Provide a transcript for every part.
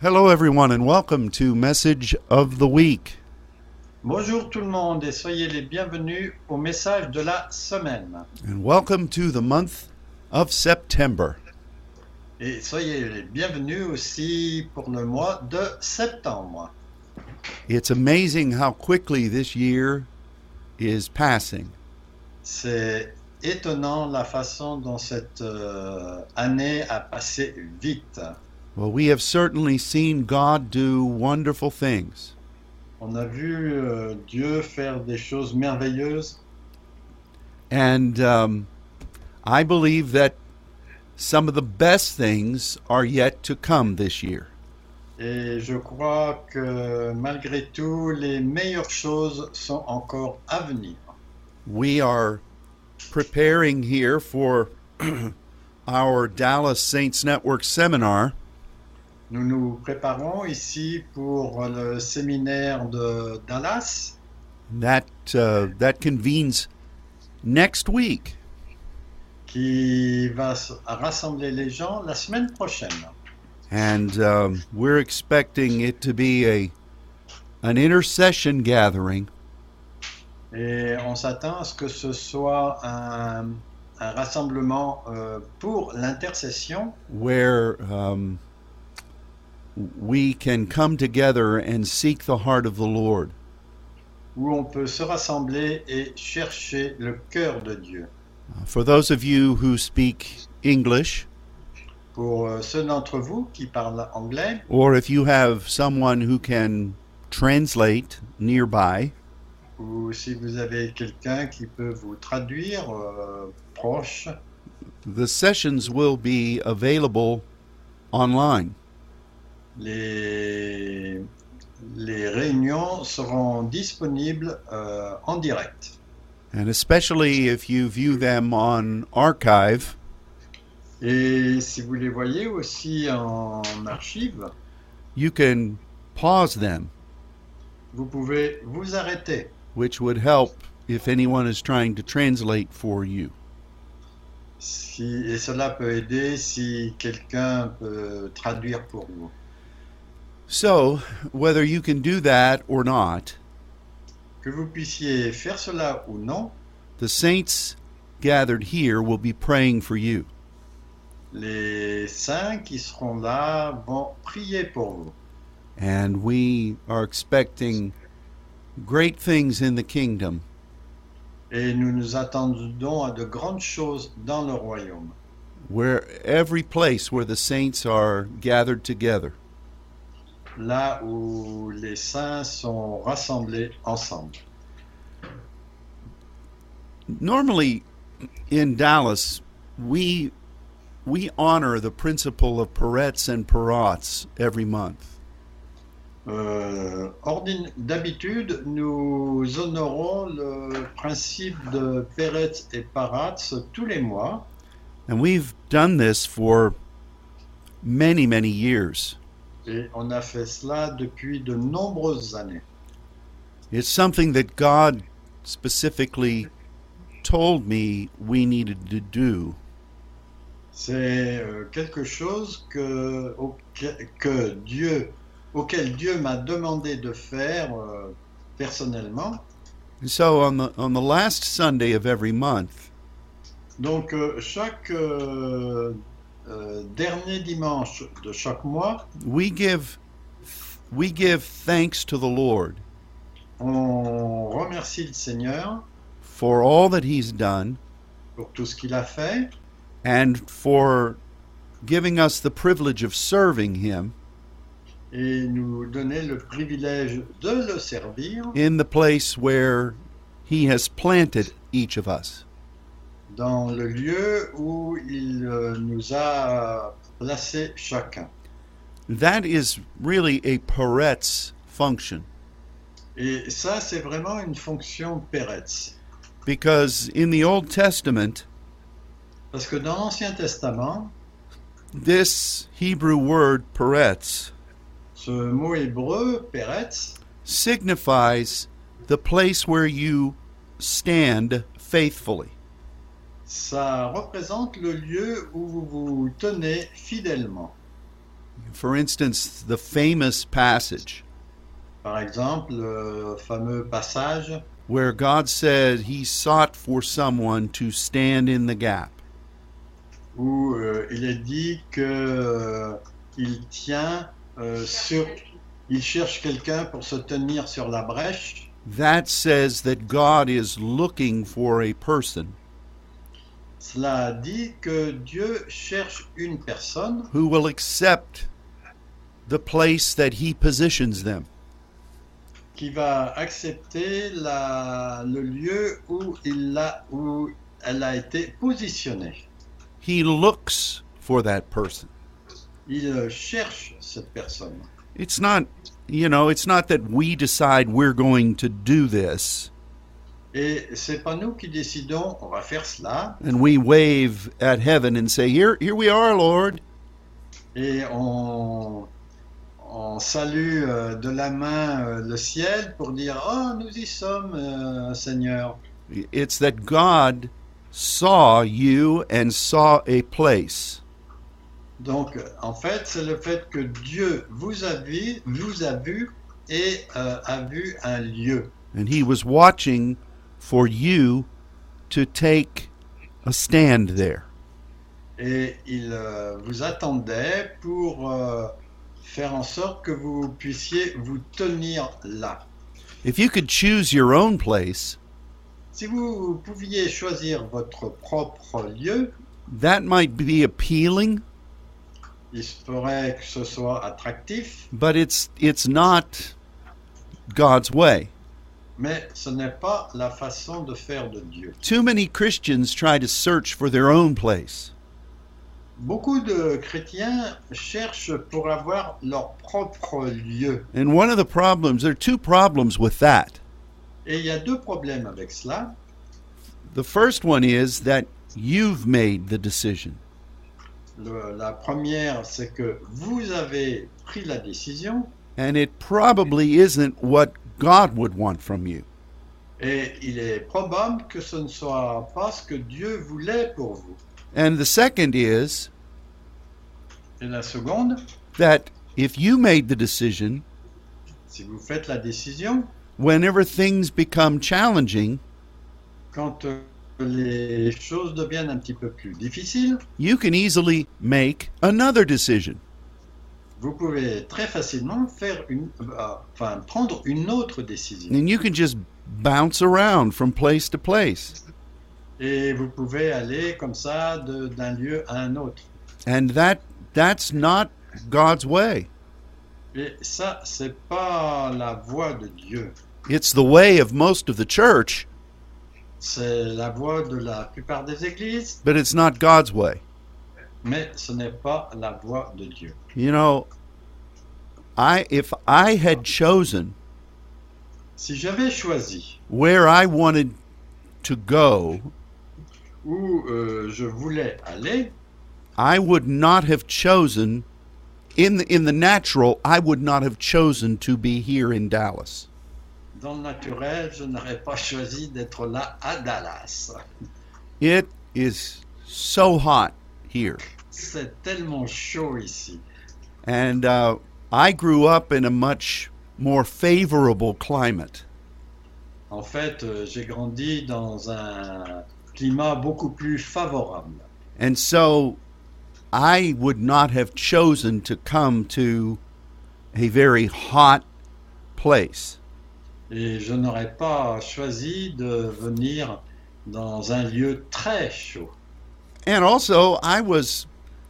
Hello, everyone, and welcome to Message of the Week. Bonjour tout le monde et soyez les bienvenus au message de la semaine. And welcome to the month of September. Et soyez les bienvenus aussi pour le mois de septembre. It's amazing how quickly this year is passing. C'est étonnant la façon dont cette année a passé vite. Well, we have certainly seen God do wonderful things. On a vu Dieu faire des choses merveilleuses. And I believe that some of the best things are yet to come this year. Et je crois que malgré tout, les meilleures choses sont encore à venir. We are preparing here for our Dallas Saints Network seminar. Nous nous préparons ici pour le séminaire de Dallas That convenes next week. qui va rassembler les gens la semaine prochaine. And we're expecting it to be an intercession gathering Et on s'attend à ce que ce soit un rassemblement pour l'intercession where we can come together and seek the heart of the Lord. où on peut se rassembler et chercher le cœur de Dieu. For those of you who speak English, Pour ceux d'entre vous qui parlent anglais, or if you have someone who can translate nearby, ou si vous avez quelqu'un qui peut vous traduire proche, the sessions will be available online. les réunions seront disponibles en direct. And especially if you view them on archive, Et si vous les voyez aussi en archive, you can pause them, vous pouvez vous arrêter, which would help if anyone is trying to translate for you. et cela peut aider si quelqu'un peut traduire pour vous. So, whether you can do that or not, Que vous puissiez faire cela ou non, the saints gathered here will be praying for you. les saints qui seront là vont prier pour vous. And we are expecting great things in the kingdom. Et nous nous attendons à de grandes choses dans le royaume, Where every place where the saints are gathered together. là où les saints sont rassemblés ensemble. Normally in Dallas, we honor the principle of Peretz and Peratz every month. D'habitude, nous honorons le principe de Peretz et Paratz tous les mois, And we've done this for many, many years. et on a fait cela depuis de nombreuses années. It's something that God specifically told me we needed to do. C'est quelque chose auquel Dieu m'a demandé de faire personnellement. And so on the last Sunday of every month, Donc chaque dernier dimanche de chaque mois, we give thanks to the Lord on remercie le Seigneur for all that He's done pour tout ce qu'il a fait and for giving us the privilege of serving Him et nous donner le privilège de le servir in the place where He has planted each of us. dans le lieu où il nous a placés chacun. That is really a Peretz function, Et ça, c'est vraiment une fonction Peretz. because in the Old Testament, Parce que dans l'Ancien Testament, this Hebrew word Peretz ce mot hébreu, Peretz, signifies the place where you stand faithfully. ça représente le lieu où vous vous tenez fidèlement. For instance, the famous passage Par exemple, le fameux passage where God said he sought for someone to stand in the gap. où il est dit que il tient il cherche quelqu'un pour se tenir sur la brèche. That says that God is looking for a person Cela dit que Dieu cherche une personne who will accept the place that he positions them. qui va accepter le lieu où elle a été positionnée. He looks for that person. Il cherche cette personne. It's not, it's not that we decide we're going to do this Et c'est pas nous qui décidons, on va faire cela, and we wave at heaven and say, here we are, Lord. et on salue de la main le ciel pour dire « Oh, nous y sommes, Seigneur ». It's that God saw you and saw a place. Donc, en fait, c'est le fait que Dieu vous a vu et a vu un lieu. And he was watching for you to take a stand there. Et il vous attendait pour faire en sorte que vous puissiez vous tenir là. If you could choose your own place, Si vous pouviez choisir votre propre lieu, that might be appealing, il se pourrait que ce soit attractif, but it's not God's way. mais ce n'est pas la façon de faire de Dieu. Too many Christians try to search for their own place. Beaucoup de chrétiens cherchent pour avoir leur propre lieu. And one of the problems, there are two problems with that. Et il y a deux problèmes avec cela. The first one is that you've made the decision. La première, c'est que vous avez pris la décision And it probably isn't what God would want from you. et il est probable que ce ne soit pas ce que Dieu voulait pour vous. And the second is Et la seconde, that if you made the decision, si vous faites la décision, whenever things become challenging, quand les choses deviennent un petit peu plus difficiles, you can easily make another decision. vous pouvez très facilement prendre une autre décision. And you can just bounce around from place to place. Et vous pouvez aller comme ça d'un lieu à un autre. And that's not God's way. Et ça, c'est pas la voie de Dieu. It's the way of most of the church, C'est la voie de la plupart des églises, but it's not God's way. mais ce n'est pas la voie de Dieu. You know, if I had chosen Si j'avais choisi where I wanted to go, où je voulais aller, I would not have chosen in the natural, I would not have chosen to be here in Dallas. dans le naturel, je n'aurais pas choisi d'être là à Dallas. It is so hot here. C'est tellement chaud ici. And I grew up in a much more favorable climate. En fait, j'ai grandi dans un climat beaucoup plus favorable. And so I would not have chosen to come to a very hot place. Et je n'aurais pas choisi de venir dans un lieu très chaud. And also, I was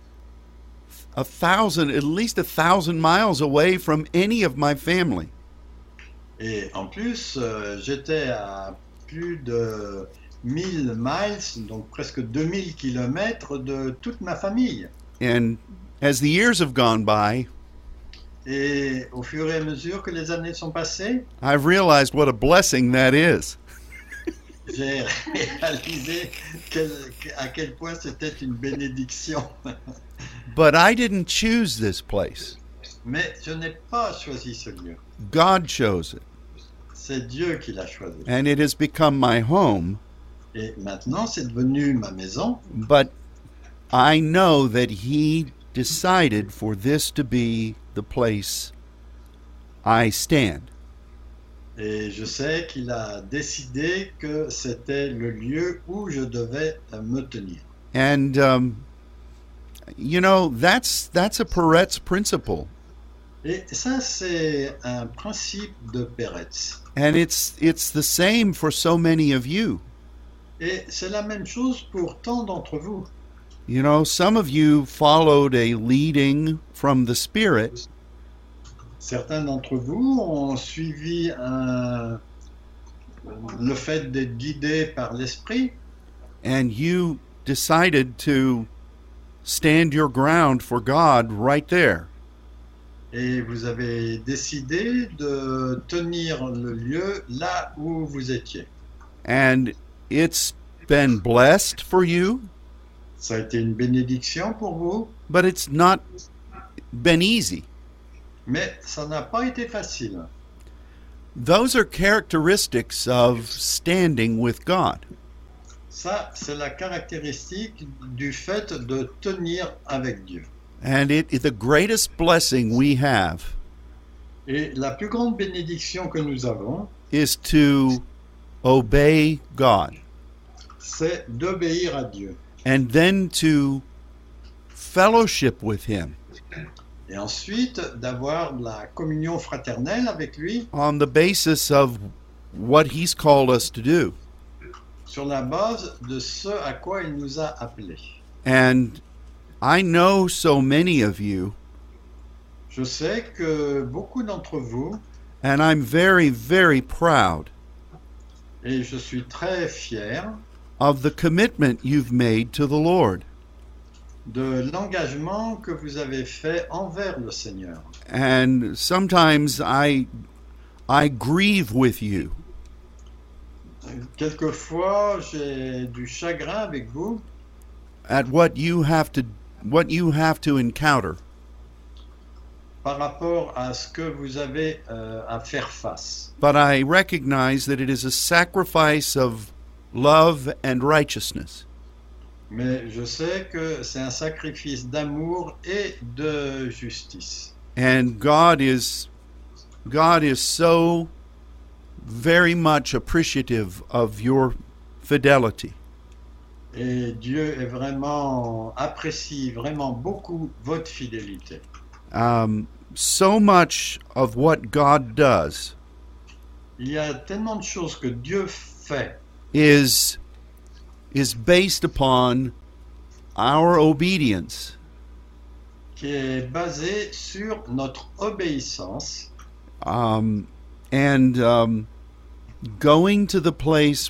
at least 1,000 miles away from any of my family. Et en plus, j'étais à plus de 1000 miles, donc presque 2000 kilomètres de toute ma famille. And as the years have gone by, Et au fur et à mesure que les années sont passées, I've realized what a blessing that is. j'ai réalisé à quel point c'était une bénédiction. But I didn't choose this place. Mais je n'ai pas choisi ce lieu. God chose it. C'est Dieu qui l'a choisi. And it has become my home. Et maintenant, c'est devenu ma maison. But I know that He decided for this to be the place I stand. Et je sais qu'il a décidé que c'était le lieu où je devais me tenir. And you know, that's a Peretz principle. Et ça, c'est un principe de Peretz. And it's the same for so many of you. Et c'est la même chose pour tant d'entre vous. You know, some of you followed a leading from the Spirit, Certains d'entre vous ont suivi le fait d'être guidés par l'Esprit and you decided to stand your ground for God right there. et vous avez décidé de tenir le lieu là où vous étiez. And it's been blessed for you, Ça a été une bénédiction pour vous, but it's not been easy. mais ça n'a pas été facile. Those are characteristics of standing with God. Ça, c'est la caractéristique du fait de tenir avec Dieu. And it is the greatest blessing we have Et la plus grande bénédiction que nous avons, is to obey God c'est d'obéir à Dieu. and then to fellowship with Him Et ensuite, d'avoir de la communion fraternelle avec lui on the basis of what He's called us to do. sur la base de ce à quoi il nous a appelés. And I know so many of you, Je sais que beaucoup d'entre vous, and I'm very, very proud et je suis très fier of the commitment you've made to the Lord. de l'engagement que vous avez fait envers le Seigneur. And sometimes I grieve with you Quelquefois, j'ai du chagrin avec vous at what you have to encounter. par rapport à ce que vous avez à faire face. But I recognize that it is a sacrifice of love and righteousness. Mais je sais que c'est un sacrifice d'amour et de justice. And God is so very much appreciative of your fidelity. Et Dieu est vraiment, apprécie vraiment beaucoup votre fidélité. So much of what God does Il y a tellement de choses que Dieu fait is based upon our obedience. qui est basé sur notre obéissance And going to the place,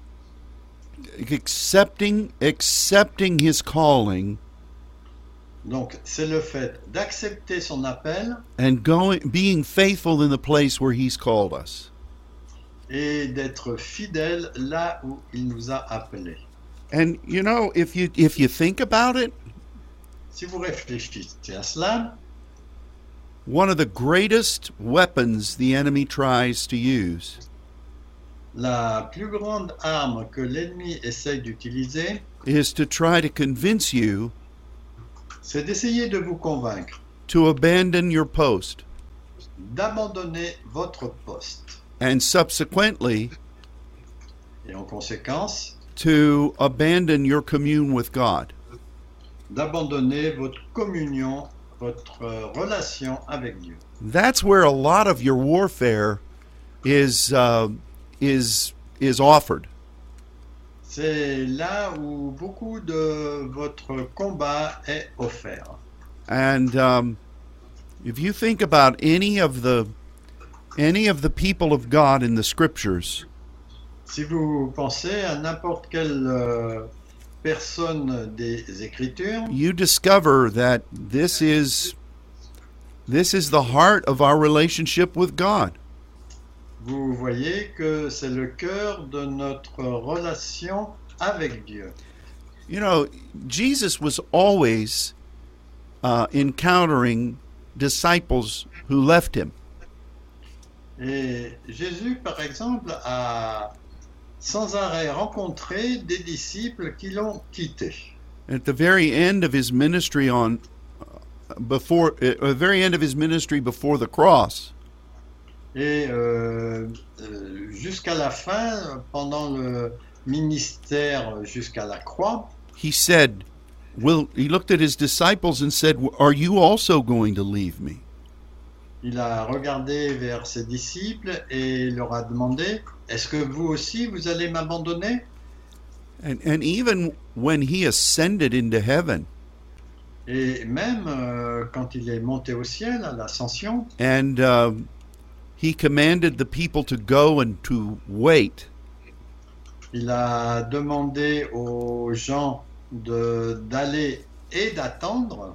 accepting His calling, Donc, c'est le fait d'accepter son appel and being faithful in the place where He's called us. et d'être fidèle là où il nous a appelés. And you know, if you think about it, Si vous réfléchissez à cela, one of the greatest weapons the enemy tries to use la plus grande arme que l'ennemi essaye d'utiliser, is to try to convince you c'est d'essayer de vous convaincre to abandon your post d'abandonner votre poste and subsequently et en conséquence to abandon your commune with God. d'abandonner votre communion, votre relation avec Dieu. That's where a lot of your warfare is offered. C'est là où beaucoup de votre combat est offert. And if you think about any of the people of God in the Scriptures, Si vous pensez à n'importe quelle personne des Écritures, you discover that this is the heart of our relationship with God. vous voyez que c'est le cœur de notre relation avec Dieu. You know, Jesus was always encountering disciples who left Him. Et Jésus, par exemple, a sans arrêt rencontré des disciples qui l'ont quitté. At the very end of His ministry on very end of his ministry before the cross, Et jusqu'à la fin, pendant le ministère jusqu'à la croix, he said, he looked at his disciples and said, "Are you also going to leave me?" il a regardé vers ses disciples et leur a demandé, est-ce que vous aussi, vous allez m'abandonner? And even when he ascended into heaven, Et même quand il est monté au ciel, à l'ascension, and he commanded the people to go and to wait, il a demandé aux gens d'aller et d'attendre.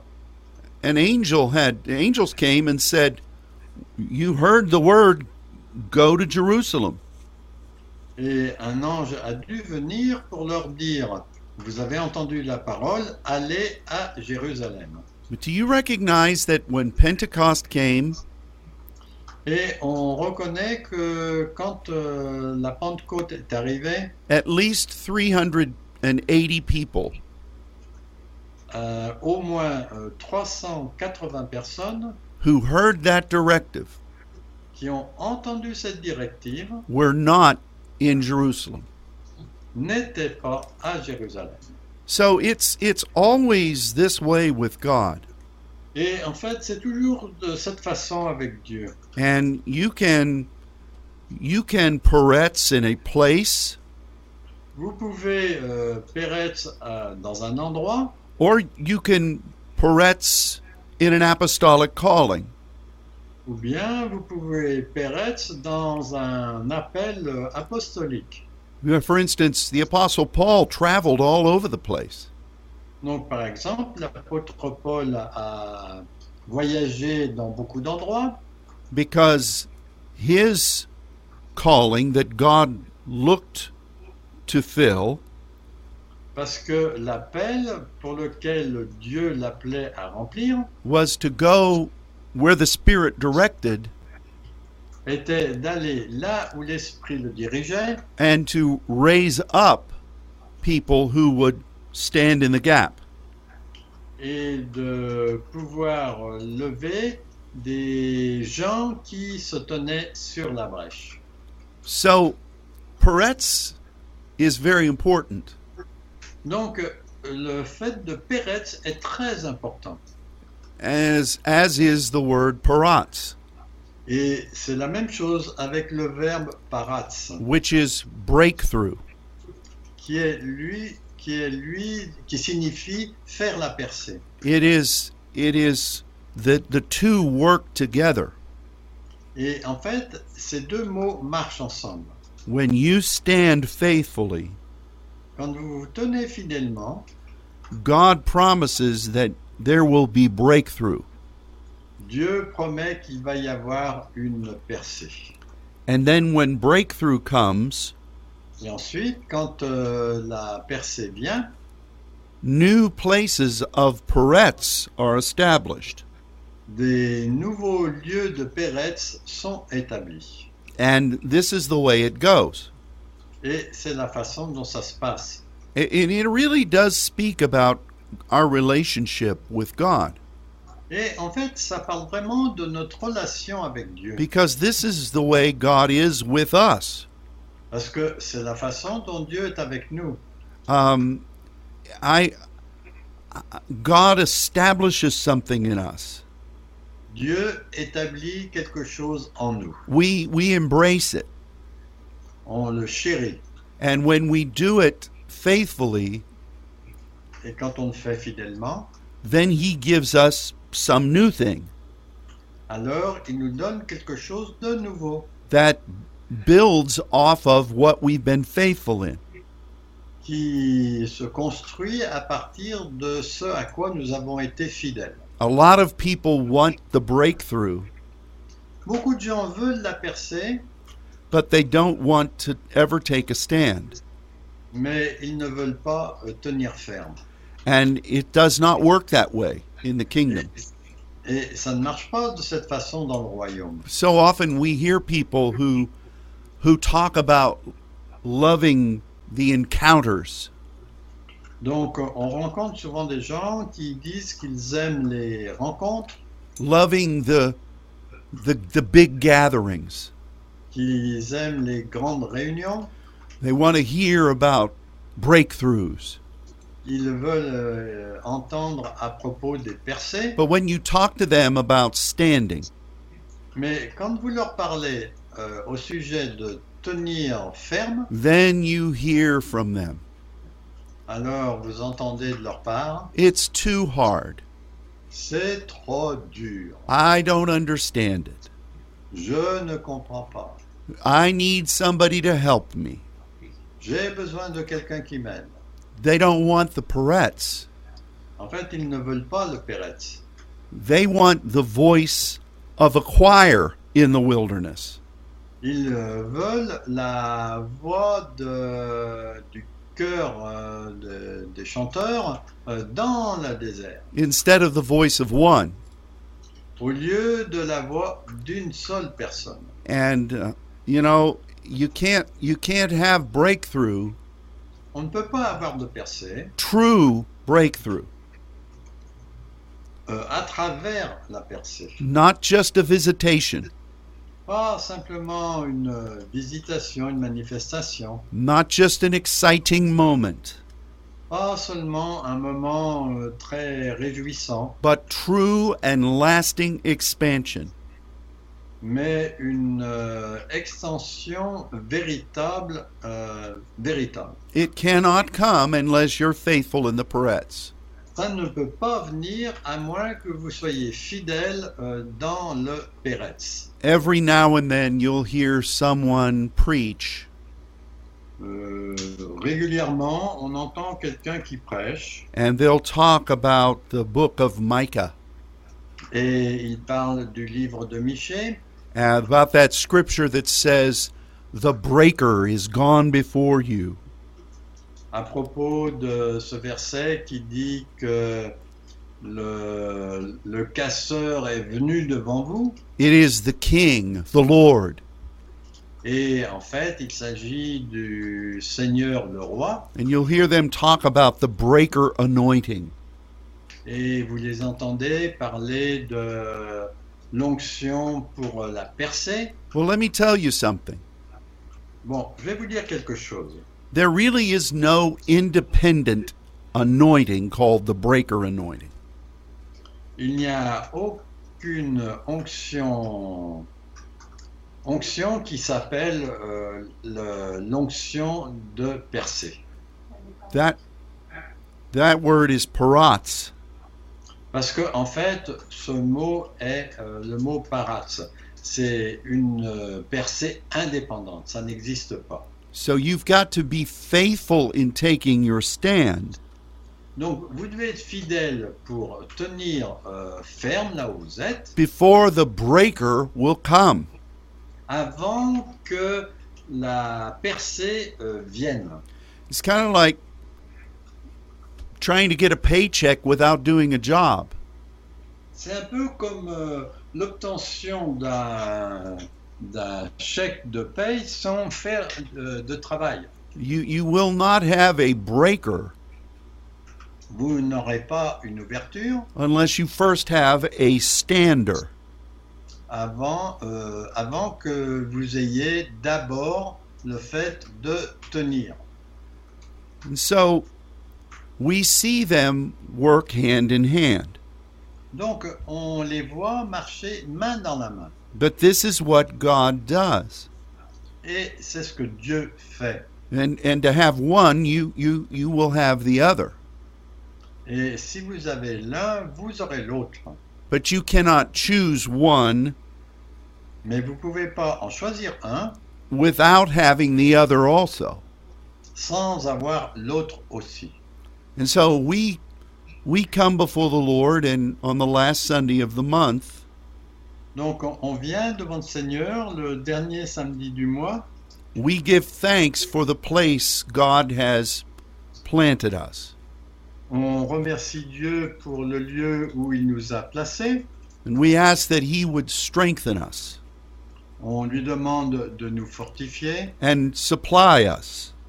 angels came and said, "You heard the word, go to Jerusalem." Et un ange a dû venir pour leur dire, vous avez entendu la parole, allez à Jérusalem. But do you recognize that when Pentecost came, Et on reconnaît que quand la Pentecôte est arrivée, at least 380 people au moins 380 personnes who heard that directive qui ont entendu cette directive were not in Jerusalem? n'étaient pas à Jérusalem. So it's always this way with God. Et en fait, c'est toujours de cette façon avec Dieu. And you can peretz in a place, Vous pouvez péretz dans un endroit, or you can peretz in an apostolic calling. ou bien vous pouvez péretz dans un appel apostolique. For instance, the Apostle Paul traveled all over the place. Donc, par exemple, l'apôtre Paul a voyagé dans beaucoup d'endroits Because his calling that God looked to fill parce que l'appel pour lequel Dieu l'appelait à remplir was to go where the Spirit directed était d'aller là où l'Esprit le dirigeait and to raise up people who would stand in the gap. et de pouvoir lever des gens qui se tenaient sur la brèche. So, peretz is very important. Donc, le fait de péretz est très important. As is the word paratz, Et c'est la même chose avec le verbe paratz, which is breakthrough. qui signifie faire la percée. It is the two work together. Et en fait, ces deux mots marchent ensemble. When you stand faithfully, Quand vous vous tenez fidèlement, God promises that there will be breakthrough. Dieu promet qu'il va y avoir une percée. And then when breakthrough comes, Et ensuite, quand la percée vient, new places of peretz are established. des nouveaux lieux de péretz sont établis. And this is the way it goes. Et c'est la façon dont ça se passe. And it really does speak about our relationship with God. Et en fait, ça parle vraiment de notre relation avec Dieu. Because this is the way God is with us. Parce que c'est la façon dont Dieu est avec nous. God establishes something in us. Dieu établit quelque chose en nous. We embrace it. On le chérit. And when we do it faithfully, Et quand on le fait fidèlement, then He gives us some new thing alors il nous donne quelque chose de nouveau that builds off of what we've been faithful in. qui se construit à partir de ce à quoi nous avons été fidèles. A lot of people want the breakthrough, Beaucoup de gens veulent la percée, but they don't want to ever take a stand. mais ils ne veulent pas tenir ferme. And it does not work that way in the kingdom. Et ça ne marche pas de cette façon dans le royaume. So often we hear people who talk about loving the encounters. Donc, on rencontre souvent des gens qui disent qu'ils aiment les rencontres, loving the big gatherings. qu'ils aiment les grandes réunions. They want to hear about breakthroughs. Ils veulent entendre à propos des percées. But when you talk to them about standing, Mais quand vous leur parlez au sujet de tenir ferme, then you hear from them. alors vous entendez de leur part, It's too hard. c'est trop dur. I don't understand it. Je ne comprends pas. I need somebody to help me. J'ai besoin de quelqu'un qui m'aide. They don't want the Peretz. En fait, ils ne veulent pas le Peretz. They want the voice of a choir in the wilderness. Ils veulent la voix du chœur des chanteurs dans le désert, Instead of the voice of one. au lieu de la voix d'une seule personne. And you can't have breakthrough, On ne peut pas avoir de percée true breakthrough, à travers la percée. not just a visitation, Pas simplement une visitation, une manifestation. not just an exciting moment, Pas seulement un moment très réjouissant, but true and lasting expansion. mais une extension véritable, véritable. It cannot come unless you're faithful in the Peretz. Ça ne peut pas venir à moins que vous soyez fidèle dans le Peretz. Every now and then you'll hear someone preach, Régulièrement, on entend quelqu'un qui prêche and they'll talk about the book of Micah, et il parle du livre de Michée, about that scripture that says, "The breaker is gone before you." à propos de ce verset qui dit que le casseur est venu devant vous. It is the King, the Lord. Et en fait, il s'agit du Seigneur le Roi. And you'll hear them talk about the breaker anointing. Et vous les entendez parler de l'onction pour la percée. Well, let me tell you something. Bon, je vais vous dire quelque chose. There really is no independent anointing called the breaker anointing. Il n'y a aucune onction qui s'appelle l'onction de percée. That word is paratz. Parce que en fait, ce mot est le mot paratz. C'est une percée indépendante. Ça n'existe pas. So you've got to be faithful in taking your stand. Donc, vous devez être fidèle pour tenir ferme là où vous êtes Before the breaker will come. avant que la percée vienne. It's kind of like trying to get a paycheck without doing a job. C'est un peu comme l'obtention d'un chèque de paye sans faire de travail. You will not have a breaker Vous n'aurez pas une ouverture unless you first have a stander. avant que vous ayez d'abord le fait de tenir. And so we see them work hand in hand. Donc, on les voit marcher main dans la main. But this is what God does. Et c'est ce que Dieu fait. And to have one, you will have the other. Et si vous avez l'un, vous aurez l'autre. But you cannot choose one Mais vous ne pouvez pas en choisir un without having the other also. sans avoir l'autre aussi. And so we come before the Lord, and on the last Sunday of the month, Donc on vient devant le Seigneur le dernier samedi du mois. we give thanks for the place God has planted us. On remercie Dieu pour le lieu où il nous a placés. And we ask that He would strengthen us On lui demande de nous fortifier and supply us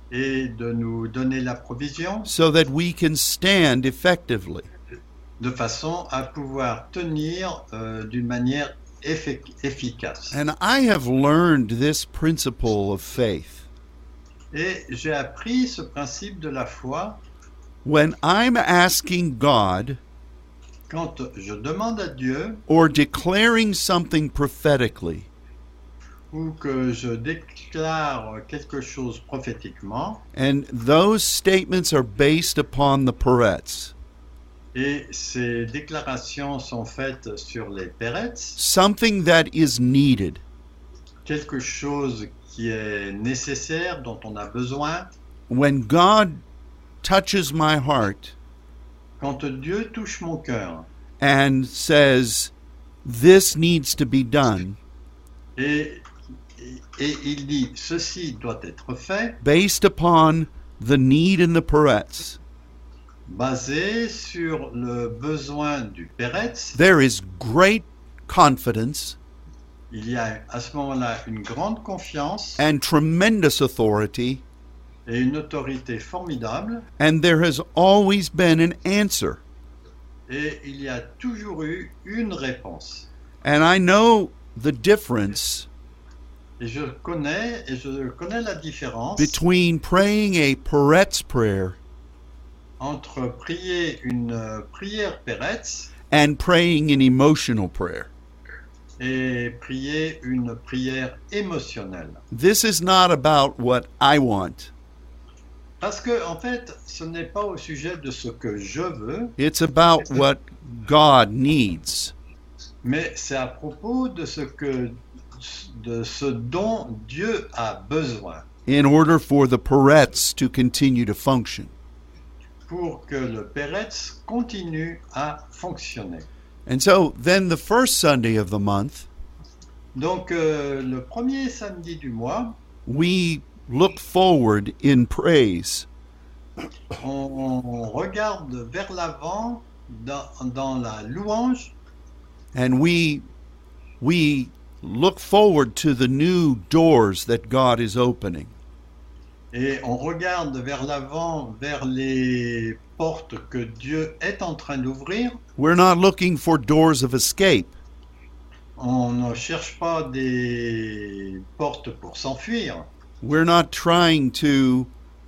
et de nous donner la provision so that we can stand effectively. de façon à pouvoir tenir d'une manière efficace. And I have learned this principle of faith. Et j'ai appris ce principe de la foi When I'm asking God quand je demande à Dieu or declaring something prophetically, ou que je déclare quelque chose prophétiquement, and those statements are based upon the Peretz. et ces déclarations sont faites sur les Peretz, Something that is needed. quelque chose qui est nécessaire, dont on a besoin. When God touches my heart Quand Dieu touche mon cœur and says, this needs to be done, et il dit ceci doit être fait, based upon the need in the Peretz, basé sur le besoin du Peretz, there is great confidence il y a à ce moment-là une grande confiance and tremendous authority, et une autorité formidable, and there has always been an answer. et il y a toujours eu une réponse. And I know the difference Et je connais la différence between praying a Peretz prayer entre prier une prière Peretz and praying an emotional prayer. et prier une prière émotionnelle. This is not about what I want. Parce que, en fait, ce n'est pas au sujet de ce que je veux, It's about what God needs. mais c'est à propos de ce dont Dieu a besoin In order for the Peretz to continue to function. pour que le Peretz continue à fonctionner. And so then the first Sunday of the month, Donc, le premier samedi du mois, we look forward in praise. on regarde vers l'avant dans la louange And we look forward to the new doors that God is opening. et on regarde vers l'avant, vers les portes que Dieu est en train d'ouvrir. We're not looking for doors of escape. On ne cherche pas des portes pour s'enfuir. We're not trying to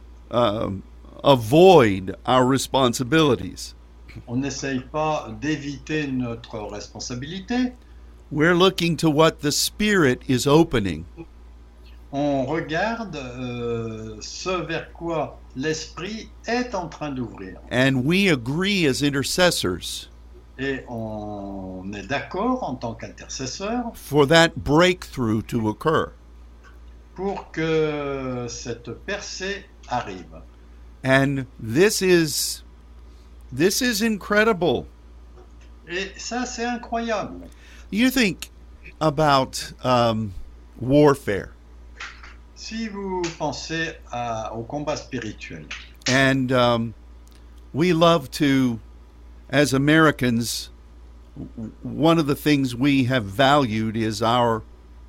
avoid our responsibilities. On n'essaye pas d'éviter notre responsabilité. We're looking to what the Spirit is opening. On regarde ce vers quoi l'Esprit est en train d'ouvrir. And we agree as intercessors Et on est d'accord en tant qu'intercesseur for that breakthrough to occur. pour que cette percée arrive. And this is incredible. Et ça, c'est incroyable. You think about warfare, Si vous pensez au combat spirituel, and we love to, as Americans, one of the things we have valued is our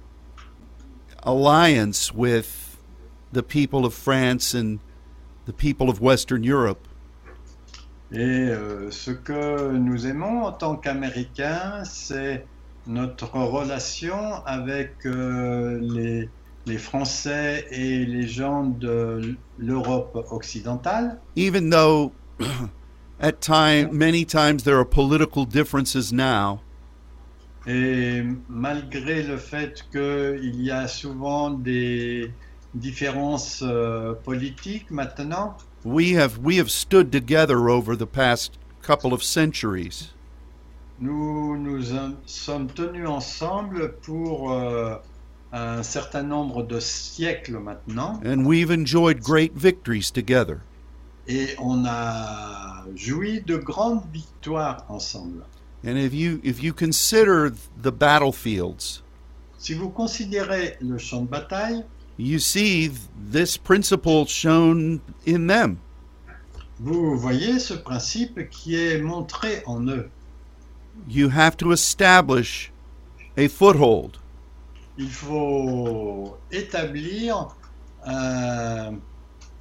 alliance with the people of France and the people of Western Europe. et ce que nous aimons en tant qu'Américains, c'est notre relation avec les Français et les gens de l'Europe occidentale. Even though many times there are political differences now, Et malgré le fait qu'il y a souvent des différences politiques maintenant, we have stood together over the past couple of centuries. nous sommes tenus ensemble pour un certain nombre de siècles maintenant, And we've enjoyed great victories together. et on a joui de grandes victoires ensemble. And if you consider the battlefields, Si vous considérez le champ de bataille, you see this principle shown in them. vous voyez ce principe qui est montré en eux. You have to establish a foothold. Il faut établir un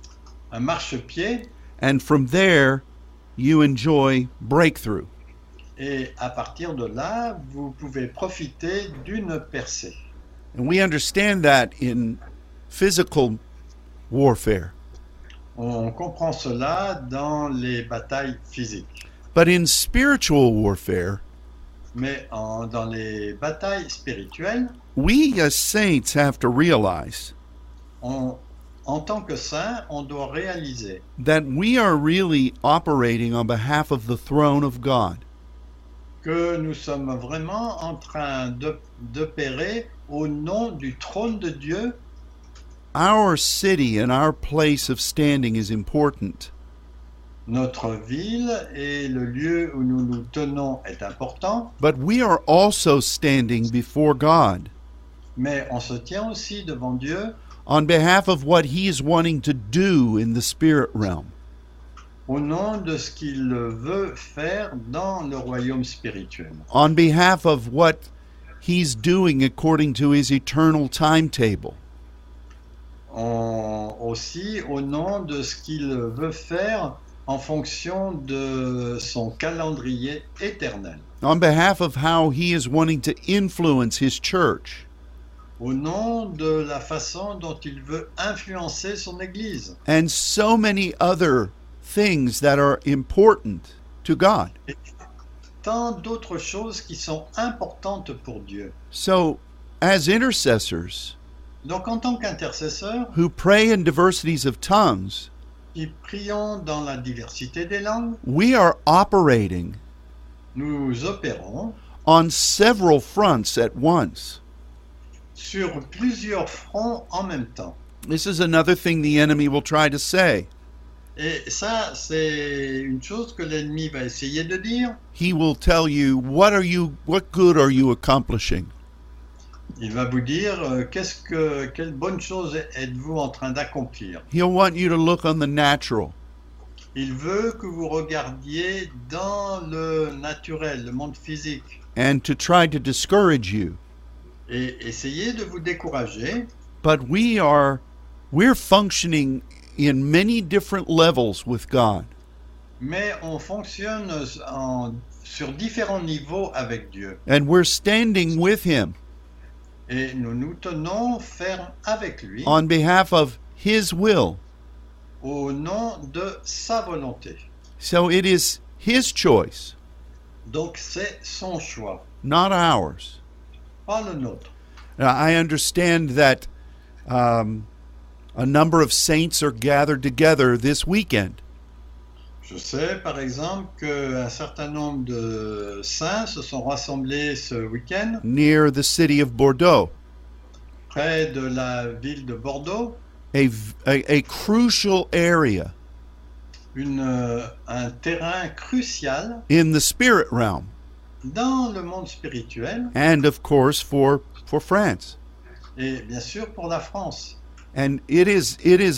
un marchepied, and from there you enjoy breakthrough. et à partir de là, vous pouvez profiter d'une percée. And we understand that in physical warfare. On comprend cela dans les batailles physiques. But in spiritual warfare, Mais dans les batailles spirituelles, we as saints have to realize en tant que saint, on doit réaliser that we are really operating on behalf of the throne of God. que nous sommes vraiment en train d'opérer au nom du trône de Dieu. Our city and our place of standing is important. Notre ville et le lieu où nous nous tenons est important, But we are also standing before God mais on se tient aussi devant Dieu on behalf of what He is wanting to do in the spirit realm. au nom de ce qu'il veut faire dans le royaume spirituel, On behalf of what He's doing according to His eternal timetable. aussi au nom de ce qu'il veut faire en fonction de son calendrier éternel, On behalf of how He is wanting to influence His church. au nom de la façon dont il veut influencer son Église, And so many other things that are important to God. et tant d'autres choses qui sont importantes pour Dieu. So, as intercessors Donc en tant qu'intercesseurs, who pray in diversities of tongues, qui prions dans la diversité des langues, we are operating nous opérons on several fronts at once. sur plusieurs fronts en même temps. This is another thing the enemy will try to say. Et ça, c'est une chose que l'ennemi va essayer de dire. He will tell you, what good are you accomplishing? Il va vous dire, quelle bonne chose êtes-vous en train d'accomplir? He'll want you to look on the natural. Il veut que vous regardiez dans le naturel, le monde physique, And to try to discourage you. et essayer de vous décourager. But we're functioning in many different levels with God. Mais on fonctionne sur différents niveaux avec Dieu. And we're standing with Him Et nous nous tenons fermes avec lui on behalf of His will. au nom de sa volonté. So it is His choice, Donc c'est son choix, not ours. pas le nôtre. Now, I understand that a number of saints are gathered together this weekend. Je sais par exemple qu'un certain nombre de saints se sont rassemblés ce week-end Near the city of Bordeaux, près de la ville de Bordeaux, a crucial area un terrain crucial in the spirit realm, dans le monde spirituel and of course for France. et bien sûr pour la France. And it is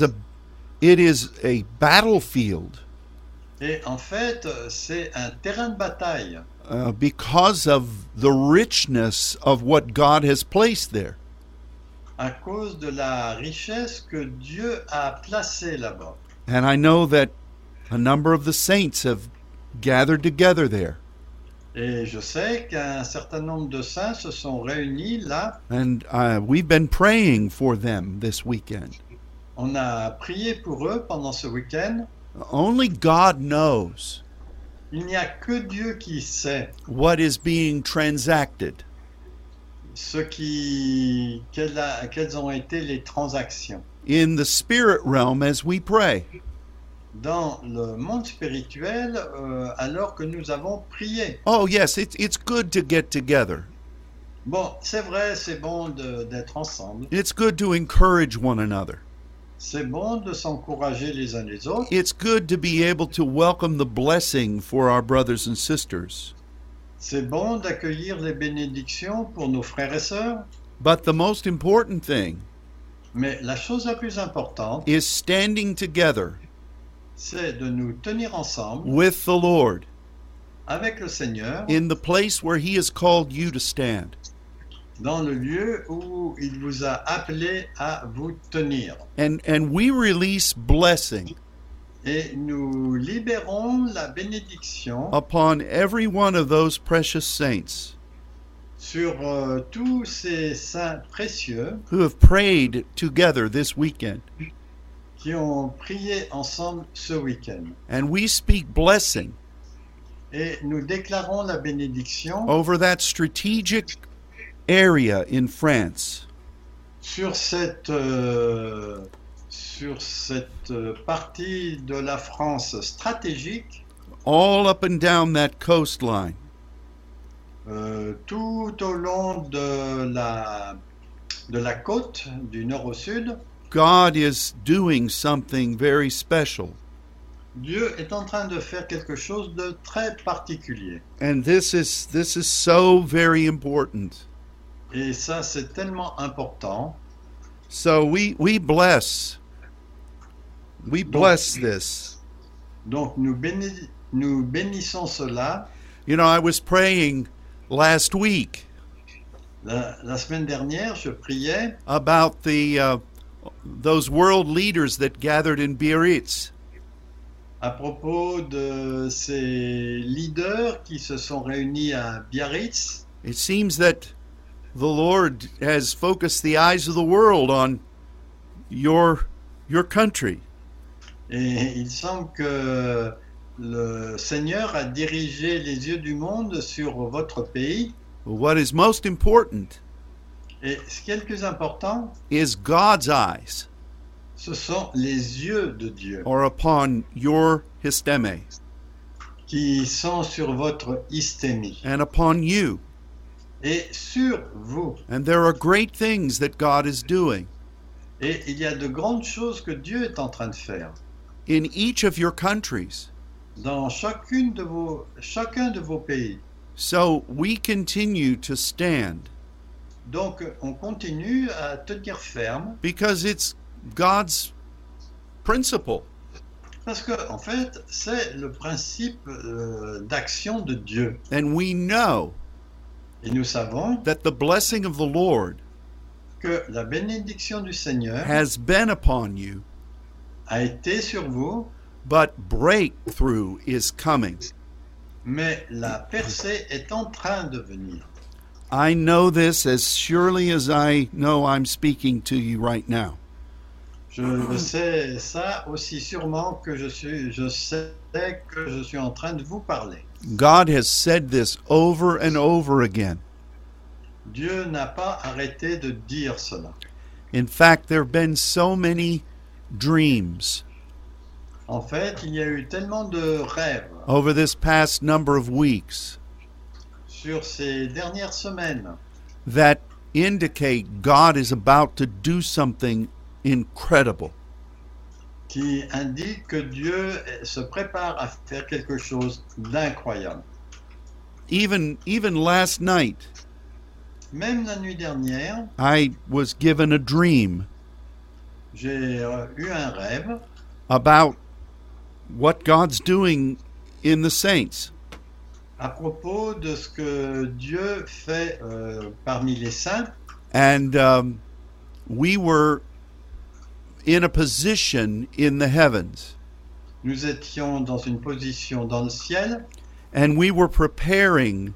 a battlefield Et en fait, c'est un terrain de bataille because of the richness of what God has placed there. à cause de la richesse que Dieu a placée là-bas. And I know that a number of the saints have gathered together there. Et je sais qu'un certain nombre de saints se sont réunis là. And we've been praying for them this weekend. On a prié pour eux pendant ce week-end. Only God knows Il n'y a que Dieu qui sait what is being transacted. Quelles ont été les transactions In the spirit realm as we pray. dans le monde spirituel alors que nous avons prié. Oh yes, it's good to get together. Bon, c'est vrai, c'est bon d'être ensemble. It's good to encourage one another. C'est bon de s'encourager les uns les autres. It's good to be able to welcome the blessing for our brothers and sisters. C'est bon d'accueillir les bénédictions pour nos frères et sœurs. But the most important thing Mais la chose la plus importante, is standing together c'est de nous tenir ensemble with the Lord avec le Seigneur in the place where He has called you to stand. dans le lieu où il vous a appelé à vous tenir. And we release blessing Et nous libérons la bénédiction upon every one of those precious saints sur tous ces saints précieux who have prayed together this weekend. qui ont prié ensemble ce week-end. And we speak blessing Et nous déclarons la bénédiction over that strategic area in France. sur cette partie de la France stratégique, All up and down that coastline. tout au long de la côte du nord au sud. God is doing something very special. Dieu est en train de faire quelque chose de très particulier. And this is so very important. Et ça, c'est tellement important. So we bless this. Donc, nous bénissons cela. You know, I was praying last week La semaine dernière, je priais about those world leaders that gathered in Biarritz. à propos de ces leaders qui se sont réunis à Biarritz. It seems that the Lord has focused the eyes of the world on your country. Et il semble que le Seigneur a dirigé les yeux du monde sur votre pays. What is most important Et ce qui est le plus important, is God's eyes ce sont les yeux de Dieu are upon your histeme qui sont sur votre hystémie and upon you. et sur vous. And there are great things that God is doing Et il y a de grandes choses que Dieu est en train de faire in each of your countries. dans chacun de vos pays. So we continue to stand Donc on continue à tenir ferme because it's God's principle. parce que en fait c'est le principe d'action de Dieu. And we know Et nous savons that the blessing of the Lord que la bénédiction du Seigneur has been upon you, a été sur vous, but breakthrough is coming. mais la percée est en train de venir. I know this as surely as I know I'm speaking to you right now. Je sais ça aussi sûrement que je sais que je suis en train de vous parler. God has said this over and over again. Dieu n'a pas arrêté de dire cela. In fact, there have been so many dreams En fait, il y a eu tellement de rêves over this past number of weeks sur ces dernières semaines that indicate God is about to do something incredible. qui indiquent que Dieu se prépare à faire quelque chose d'incroyable. Even last night, Même la nuit dernière, I was given a dream j'ai eu un rêve about what God's doing in the saints. à propos de ce que Dieu fait parmi les saints. And we were in a position in the heavens. Nous étions dans une position dans le ciel And we were preparing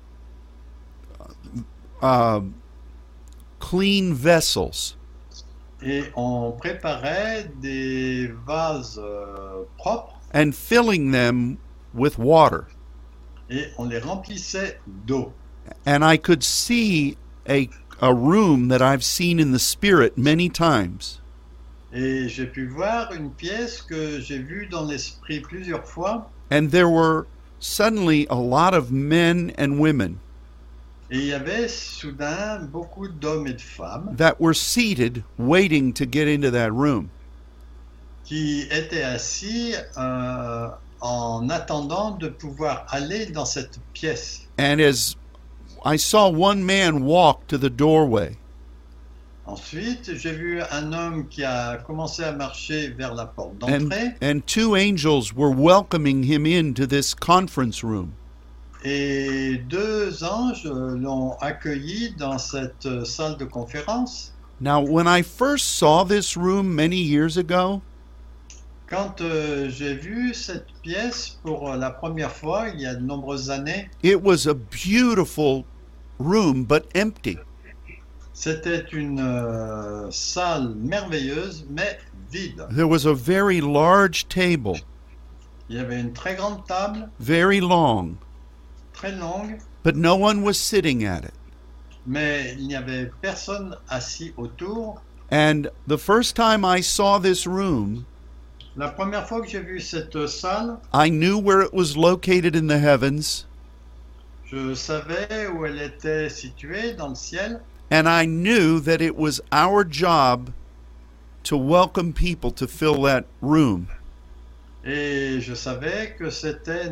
clean vessels et on préparait des vases propres and filling them with water. et on les remplissait d'eau. And I could see a room that I've seen in the spirit many times. Et j'ai pu voir une pièce que j'ai vue dans l'esprit plusieurs fois. And there were suddenly a lot of men and women Et il y avait soudain beaucoup d'hommes et de femmes that were seated waiting to get into that room. qui étaient assis en attendant de pouvoir aller dans cette pièce. And as I saw one man walk to the doorway, Ensuite, j'ai vu un homme qui a commencé à marcher vers la porte d'entrée and two angels were welcoming him into this conference room. Et 2 anges l'ont accueilli dans cette salle de conférence. Now, when I first saw this room many years ago, Quand j'ai vu cette pièce pour la première fois, il y a de nombreuses années, it was a beautiful room, but empty. c'était une salle merveilleuse, mais vide. There was a very large table, Il y avait une très grande table, very long, très longue, but no one was sitting at it. mais il n'y avait personne assis autour. And the first time I saw this room, La première fois que j'ai vu cette salle, I knew where it was located in the heavens, je savais où elle était située dans le ciel, and I knew that it was our job to welcome people to fill that room. et je savais que c'était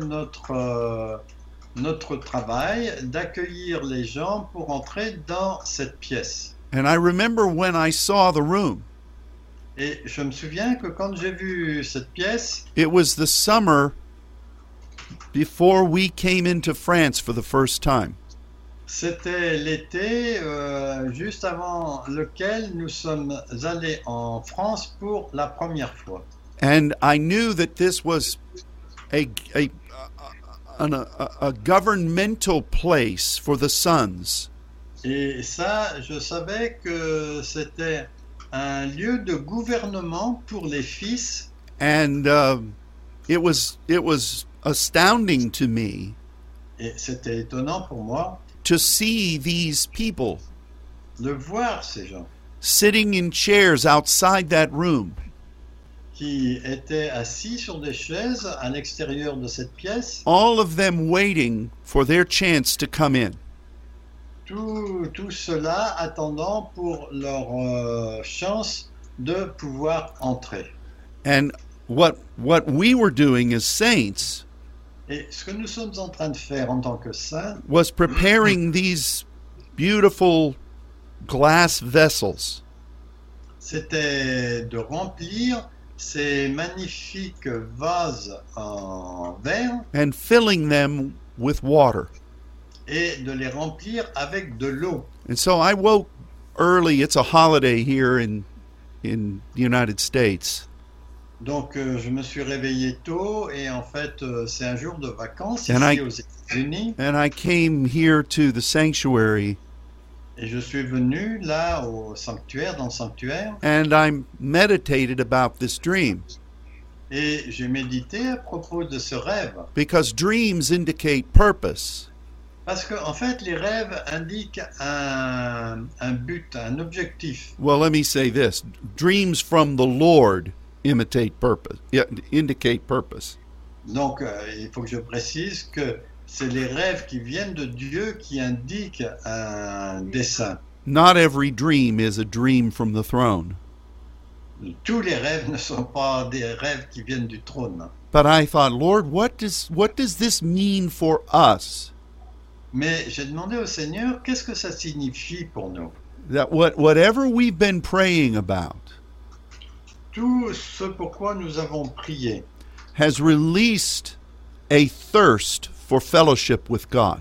notre travail d'accueillir les gens pour entrer dans cette pièce. And I remember when I saw the room, Et je me souviens que quand j'ai vu cette pièce, it was the summer before we came into France for the first time. c'était l'été juste avant lequel nous sommes allés en France pour la première fois. And I knew that this was a governmental place for the sons. Et ça, je savais que c'était un lieu de gouvernement pour les fils. And it was astounding to me Et c'était étonnant pour moi to see these people de voir ces gens sitting in chairs outside that room. qui étaient assis sur des chaises à l'extérieur de cette pièce, All of them waiting for their chance to come in. tout cela attendant pour leur chance de pouvoir entrer. And what we were doing as saints Et ce que nous sommes en train de faire en tant que saints, was preparing these beautiful glass vessels c'était de remplir ces magnifiques vases en verre and filling them with water. et de les remplir avec de l'eau. And so I woke early. It's a holiday here in the United States. Donc je me suis réveillé tôt et en fait c'est un jour de vacances And ici I- aux États-Unis And I came here to the sanctuary et je suis venu là au sanctuaire, dans le sanctuaire, and I meditated about this dream et j'ai médité à propos de ce rêve. because dreams indicate purpose. Parce que en fait les rêves indiquent un but, un objectif. Well, let me say this. Dreams from the Lord indicate purpose. Donc il faut que je précise que c'est les rêves qui viennent de Dieu qui indiquent un dessein. Not every dream is a dream from the throne. Tous les rêves ne sont pas des rêves qui viennent du trône. But I thought, Lord, what does this mean for us? Mais j'ai demandé au Seigneur, qu'est-ce que ça signifie pour nous? That whatever we've been praying about Tout ce pourquoi nous avons prié has released a thirst for fellowship with God.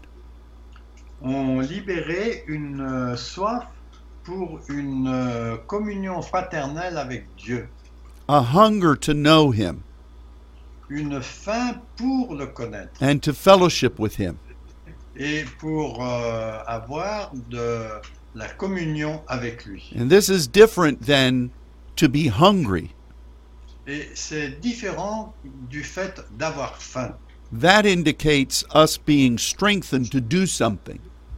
ont libéré une soif pour une communion fraternelle avec Dieu, A hunger to know Him une faim pour le connaître and to fellowship with Him. et pour avoir de la communion avec lui. And this is different than to be hungry. Et c'est différent du fait d'avoir faim. That indicates us being strengthened to do something.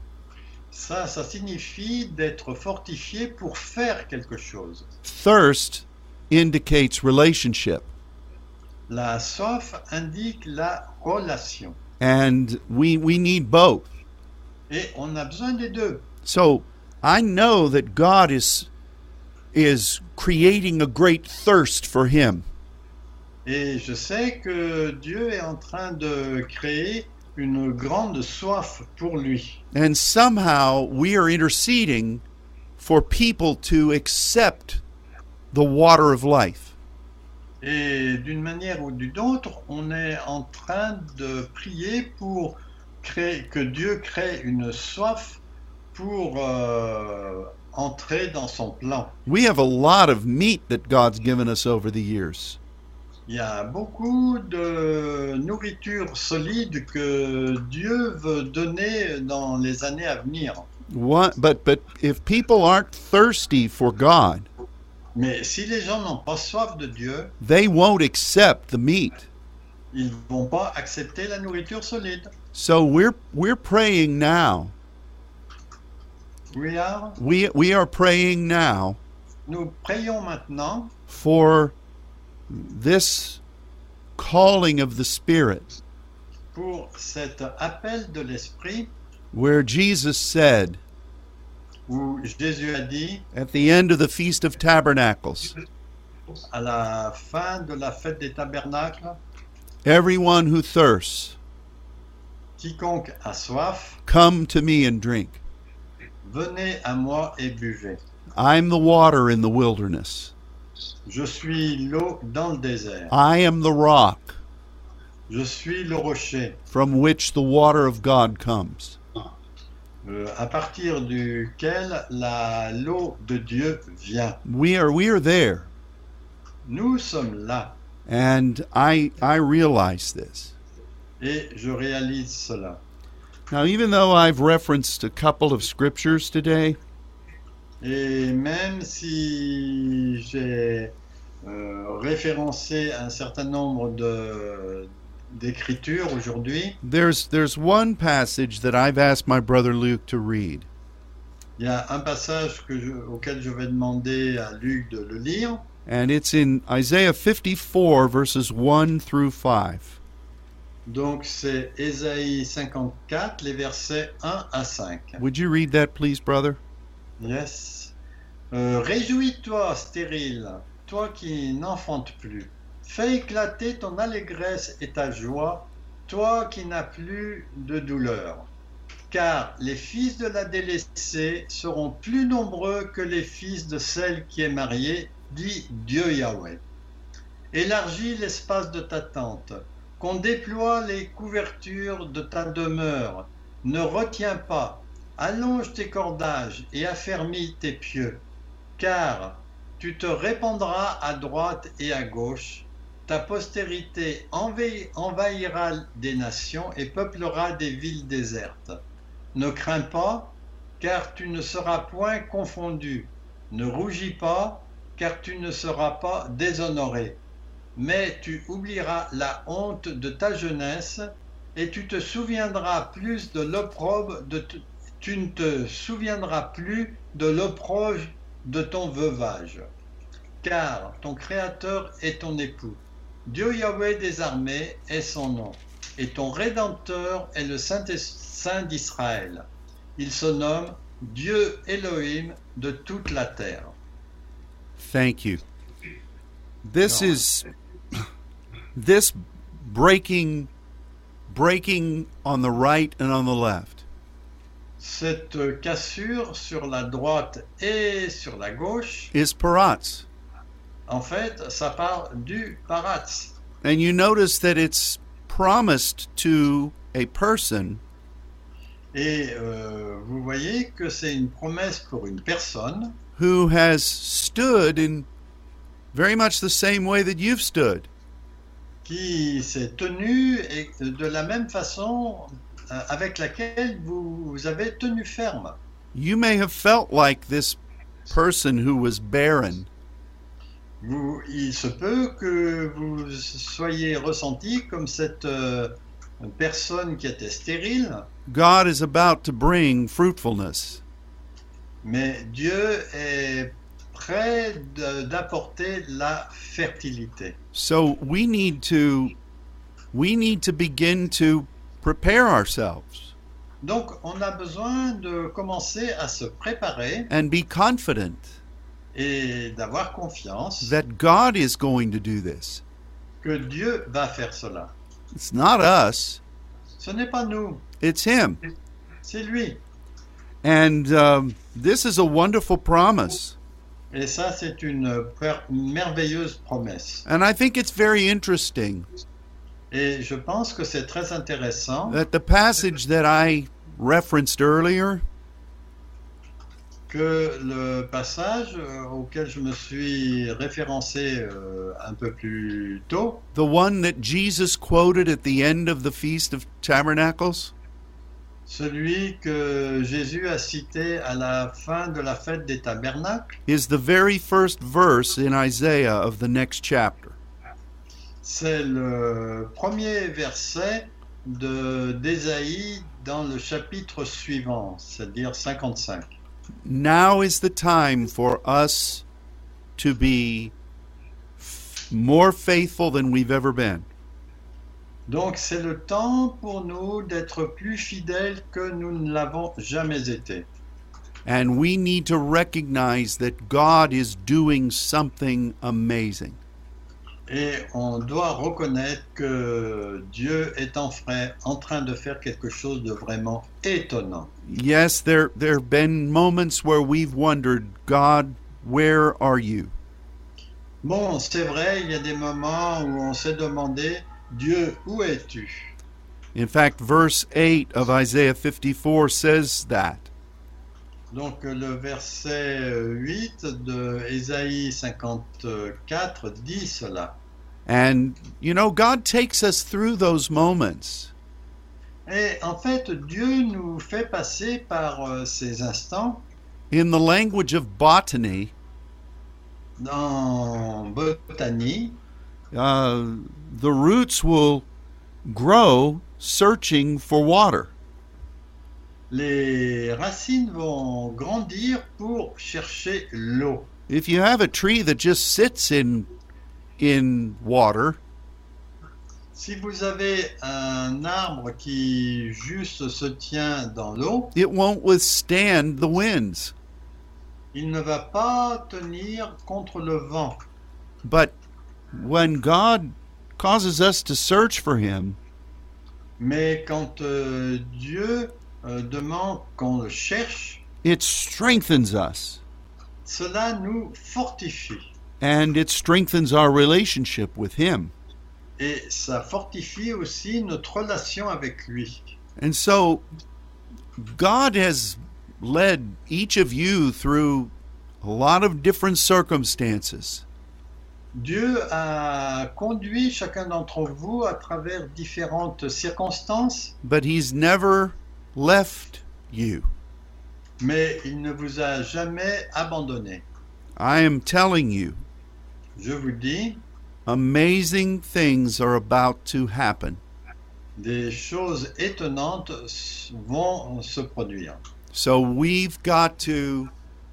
Ça signifie d'être fortifié pour faire quelque chose. Thirst indicates relationship. La soif indique la relation. And we need both. Et on a besoin des deux. So I know that God is creating a great thirst for Him. Et je sais que Dieu est en train de créer une grande soif pour lui. And somehow we are interceding for people to accept the water of life. Et d'une manière ou d'une autre, on est en train de prier pour que Dieu crée une soif pour entrer dans son plan. We have a lot of meat that God's given us over the years. Il y a beaucoup de nourriture solide que Dieu veut donner dans les années à venir. But if people aren't thirsty for God, Mais si les gens n'ont pas soif de Dieu, they won't accept the meat. ils ne vont pas accepter la nourriture solide. So we're praying now. We are praying now Nous prions maintenant for this calling of the Spirit, pour cet appel de l'Esprit where Jesus said où Jésus a dit at the end of the Feast of Tabernacles, à la fin de la fête des tabernacles, everyone who thirsts, quiconque a soif, come to me and drink. venez à moi et buvez. I'm the water in the wilderness. Je suis l'eau dans le désert. I am the rock Je suis le rocher from which the water of God comes. à partir duquel l'eau de Dieu vient. We are there. Nous sommes là And I realize this. et je réalise cela. Now, even though I've referenced a couple of scriptures today, Et même si j'ai référencé un certain nombre d'écritures aujourd'hui, there's one passage that I've asked my brother Luke to read. il y a un passage auquel je vais demander à Luc de le lire, And it's in Isaiah 54, verses 1 through 5. donc c'est Ésaïe 54, les versets 1 à 5. Would you read that, please, brother? Yes. Réjouis-toi, stérile, toi qui n'enfantes plus. Fais éclater ton allégresse et ta joie, toi qui n'as plus de douleur. Car les fils de la délaissée seront plus nombreux que les fils de celle qui est mariée, dit Dieu Yahweh. Élargis l'espace de ta tente, qu'on déploie les couvertures de ta demeure. Ne retiens pas, allonge tes cordages et affermis tes pieux, car tu te répandras à droite et à gauche, ta postérité envahira des nations et peuplera des villes désertes. Ne crains pas, car tu ne seras point confondu. Ne rougis pas, car tu ne seras pas déshonoré. Mais tu oublieras la honte de ta jeunesse, et tu te souviendras plus de l'opprobre tu ne te souviendras plus de l'opprobre de ton veuvage. Car ton Créateur est ton époux. Dieu Yahweh des armées est son nom, et ton Rédempteur est le Saint d'Israël. Il se nomme Dieu Elohim de toute la terre. Thank you. This breaking on the right and on the left. Cette cassure sur la droite et sur la gauche, Is paratz. en fait, ça part du paratz. And you notice that it's promised to a person Et vous voyez que c'est une promesse pour une personne who has stood in very much the same way that you've stood. qui s'est tenue et de la même façon avec laquelle vous avez tenu ferme. You may have felt like this person who was barren, Il se peut que vous soyez ressenti comme cette personne qui était stérile, God is about to bring fruitfulness. mais Dieu est prêt d'apporter la fertilité. So we need to begin to prepare ourselves Donc on a besoin de commencer à se préparer and be confident et d'avoir confiance that God is going to do this. que Dieu va faire cela. It's not us, Ce n'est pas nous, it's Him. c'est lui. And this is a wonderful promise. Et ça, c'est une merveilleuse promesse. And I think it's very interesting Et je pense que c'est très intéressant that the passage that I referenced earlier que le passage auquel je me suis référencé un peu plus tôt, the one that Jesus quoted at the end of the Feast of Tabernacles, celui que Jésus a cité à la fin de la fête des tabernacles, is the very first verse in Isaiah of the next chapter. c'est le premier verset d'Ésaïe dans le chapitre suivant, c'est-à-dire 55. Now is the time for us to be more faithful than we've ever been. Donc c'est le temps pour nous d'être plus fidèles que nous ne l'avons jamais été. And we need to recognize that God is doing something amazing. Et on doit reconnaître que Dieu est en train de faire quelque chose de vraiment étonnant. Yes, there have been moments where we've wondered, God, where are you? Bon, c'est vrai, il y a des moments où on s'est demandé, Dieu, où es-tu? In fact, verse 8 of Isaiah 54 says that. Donc le verset 8 de Ésaïe 54 dit cela. And, you know, God takes us through those moments. Et en fait, Dieu nous fait passer par ces instants. In the language of botany, Dans botanie, the roots will grow searching for water. les racines vont grandir pour chercher l'eau. If you have a tree that just sits in water, Si vous avez un arbre qui juste se tient dans l'eau, it won't withstand the winds. il ne va pas tenir contre le vent. But when God causes us to search for Him, Mais quand Dieu demande qu'on le cherche, it strengthens us cela nous fortifie. and it strengthens our relationship with Him. Et ça fortifie aussi notre relation avec lui. And so God has led each of you through a lot of different circumstances. Dieu a conduit chacun d'entre vous à travers différentes circonstances, But He's never left you. mais il ne vous a jamais abandonné. I am telling you, Je vous dis, amazing things are about to happen. des choses étonnantes vont se produire. So we've got to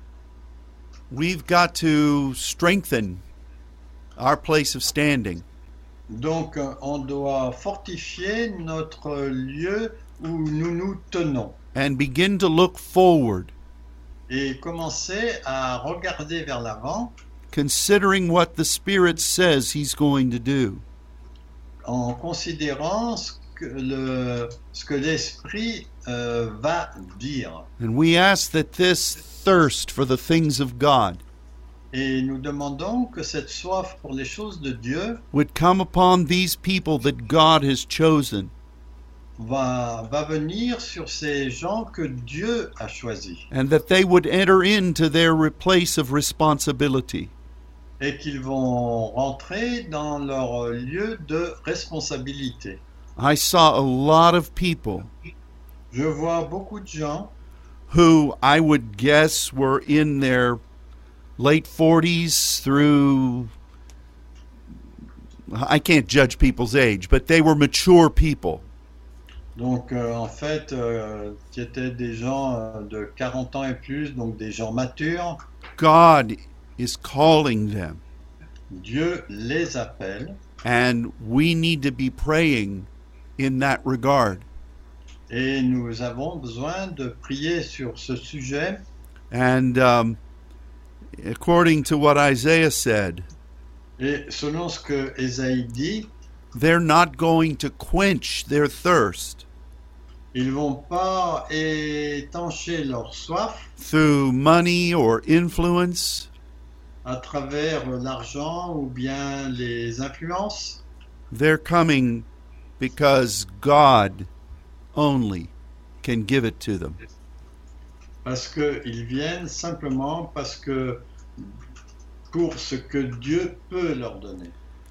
strengthen our place of standing. Donc on doit fortifier notre lieu où nous nous tenons And begin to look forward, et commencer à regarder vers l'avant considering what the Spirit says He's going to do. en considérant ce que l'Esprit va dire. And we ask that this thirst for the things of God Et nous demandons que cette soif pour les choses de Dieu would come upon these people that God has chosen, va venir sur ces gens que Dieu a choisis and that they would enter into their place of responsibility. et qu'ils vont rentrer dans leur lieu de responsabilité. I saw a lot of people Je vois beaucoup de gens who I would guess were in their late 40s through, I can't judge people's age, but they were mature people. donc en fait qui étaient des gens de 40 ans et plus, donc des gens matures. God is calling them, Dieu les appelle and we need to be praying in that regard. et nous avons besoin de prier sur ce sujet. And according to what Isaiah said, Et selon ce que Ésaïe dit, they're not going to quench their thirst ils vont pas étancher leur soif through money or influence, à travers l'argent ou bien les influences. they're coming because God only can give it to them. Parce qu'ils viennent simplement parce que pour ce que Dieu peut leur donner.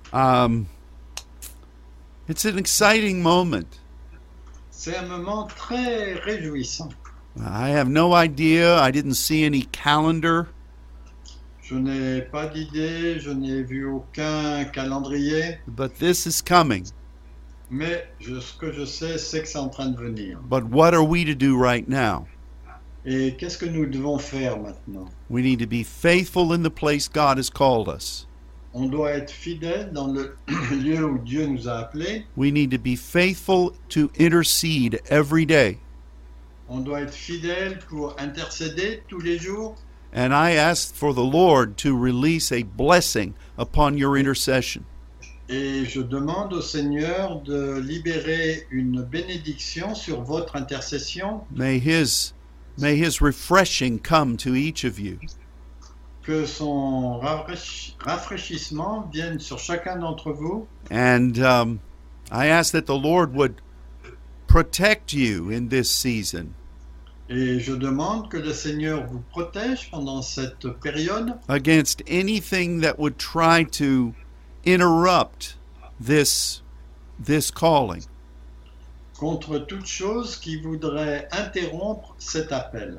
It's an exciting moment. C'est un moment très réjouissant. I have no idea. I didn't see any calendar. Je n'ai pas d'idée, je n'ai vu aucun calendrier, But this is coming. mais ce que je sais, c'est que c'est en train de venir. But what are we to do right now? Et qu'est-ce que nous devons faire maintenant? We need to be faithful in the place God has called us. On doit être fidèle dans le lieu où Dieu nous a appelés. We need to be faithful to intercede every day. On doit être fidèle pour intercéder tous les jours. And I ask for the Lord to release a blessing upon your intercession. Et je demande au Seigneur de libérer une bénédiction sur votre intercession. May His refreshing come to each of you. Que son rafraîchissement vienne sur chacun d'entre vous. And I ask that the Lord would protect you in this season Et je demande que le Seigneur vous protège pendant cette période against anything that would try to interrupt this calling. contre toute chose qui voudrait interrompre cet appel.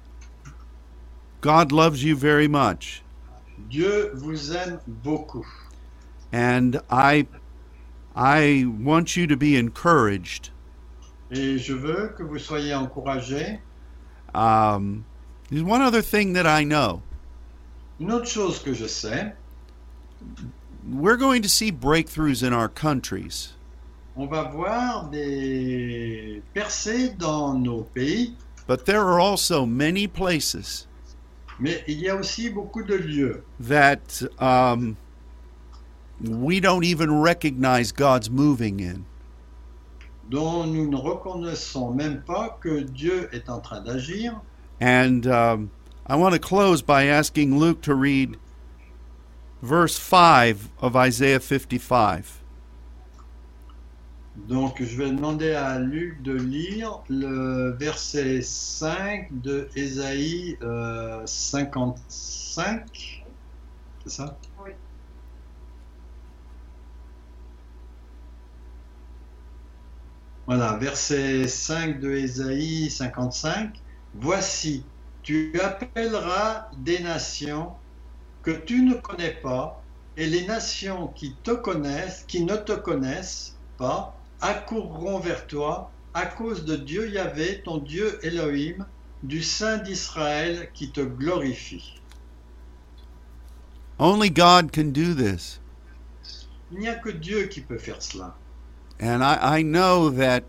God loves you very much. Dieu vous aime beaucoup. And I want you to be encouraged. Et je veux que vous soyez encouragés. There's one other thing that I know. Une autre chose que je sais, We're going to see breakthroughs in our countries. on va voir des percées dans nos pays, But there are also many places mais il y a aussi beaucoup de lieux that we don't even recognize God's moving in. dont nous ne reconnaissons même pas que Dieu est en train d'agir. And I want to close by asking Luke to read verse 5 of Isaiah 55. Donc je vais demander à Luc de lire le verset 5 de Ésaïe 55. C'est ça? Oui. Voilà, verset 5 de Ésaïe 55. Voici, tu appelleras des nations que tu ne connais pas, et les nations qui te connaissent, qui ne te connaissent pas, accourront vers toi à cause de Dieu Yahvé, ton Dieu Elohim, du Saint d'Israël qui te glorifie. Only God can do this. Il n'y a que Dieu qui peut faire cela. And I know that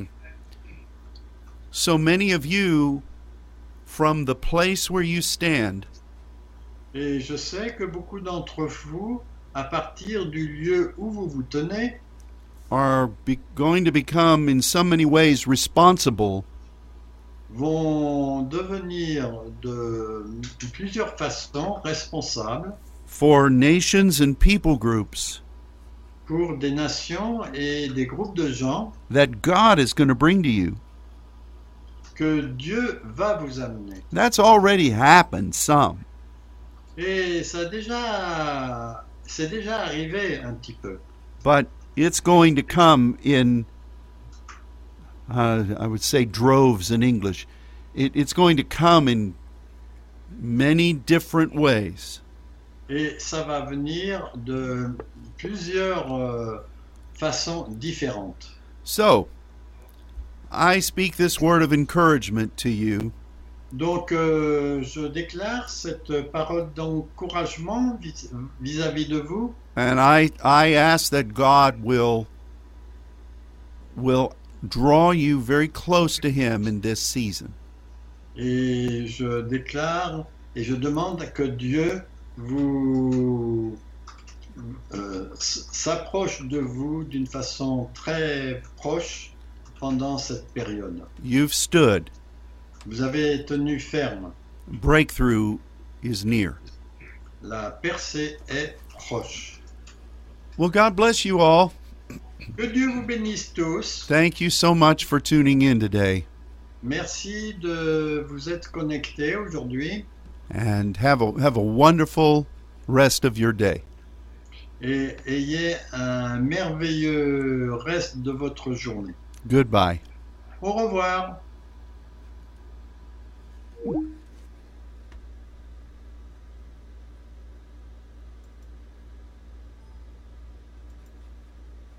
so many of you, from the place where you stand, Et je sais que beaucoup d'entre vous, à partir du lieu où vous vous tenez, are going to become in so many ways responsible vont devenir de plusieurs façons responsables for nations and people groups pour des nations et des groupes de gens that God is going to bring to you. que Dieu va vous amener. That's already happened some. Et c'est déjà arrivé un petit peu. But it's going to come in, I would say droves in English. It's going to come in many different ways. Et ça va venir de plusieurs façons différentes. So, I speak this word of encouragement to you. Donc, je déclare cette parole d'encouragement vis-à-vis de vous. And I ask that God will draw you very close to Him in this season. Et je déclare et je demande que Dieu vous s'approche de vous d'une façon très proche pendant cette période. You've stood. Vous avez tenu ferme. Breakthrough is near. La percée est proche. Well, God bless you all. Que Dieu vous bénisse tous. Thank you so much for tuning in today. Merci de vous être connectés aujourd'hui And have a wonderful rest of your day. et ayez un merveilleux reste de votre journée. Goodbye. Au revoir.